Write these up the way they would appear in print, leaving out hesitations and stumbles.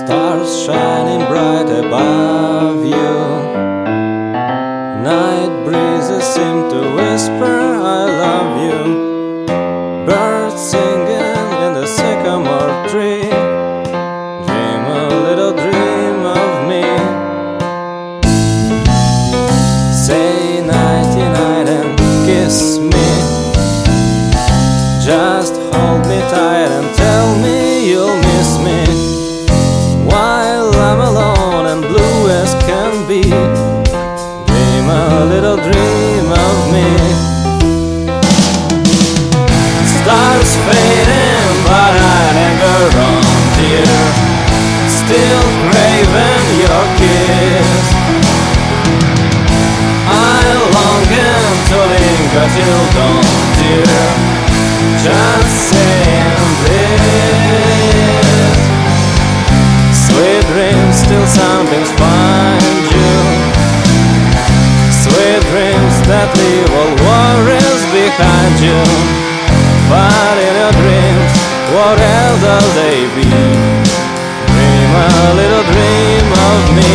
Stars shining bright above you. Night breezes seem to whisper I love you. Birds singing in the sycamore tree. Dream a little dream of me. Say nighty night and kiss me. Just hold me tight and tell me you'll miss me. While I'm alone and blue as can be, dream a little dream of me. Stars fading, but I linger on, dear, still craving your kiss. I longing to linger till dawn, dear, just saying this. Sweet dreams, still sunbeams find you. Sweet dreams that leave all worries behind you. But in your dreams, what else will they be? Dream a little dream of me.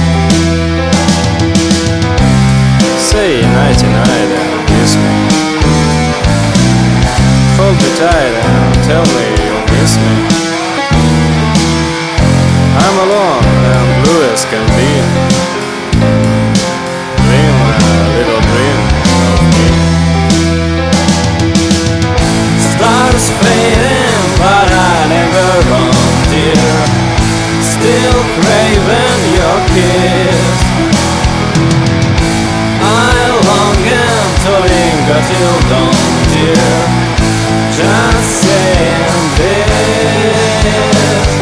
Say nighty night and kiss me. Hold me tight and tell me you'll miss me. I'm alone and blue as can be. Dream a little dream of me. Stars fading, but I linger on, dear, still craving your kiss. I longing to linger till dawn, dear, just saying this.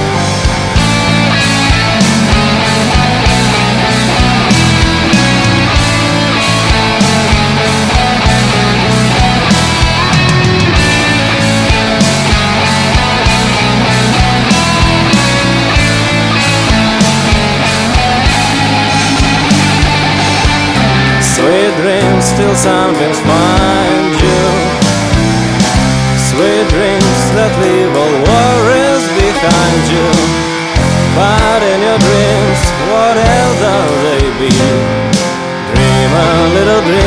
Sweet dreams, still sunbeams find you. Sweet dreams that leave all worries behind you. But in your dreams, what else are they be? Dream a little dream